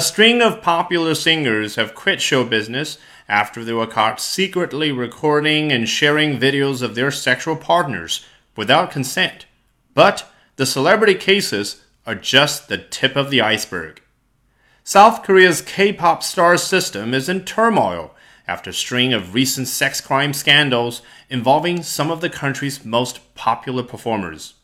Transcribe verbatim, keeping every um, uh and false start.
A string of popular singers have quit show business after they were caught secretly recording and sharing videos of their sexual partners without consent. But the celebrity cases are just the tip of the iceberg. South Korea's K-pop star system is in turmoil after a string of recent sex crime scandals involving some of the country's most popular performers.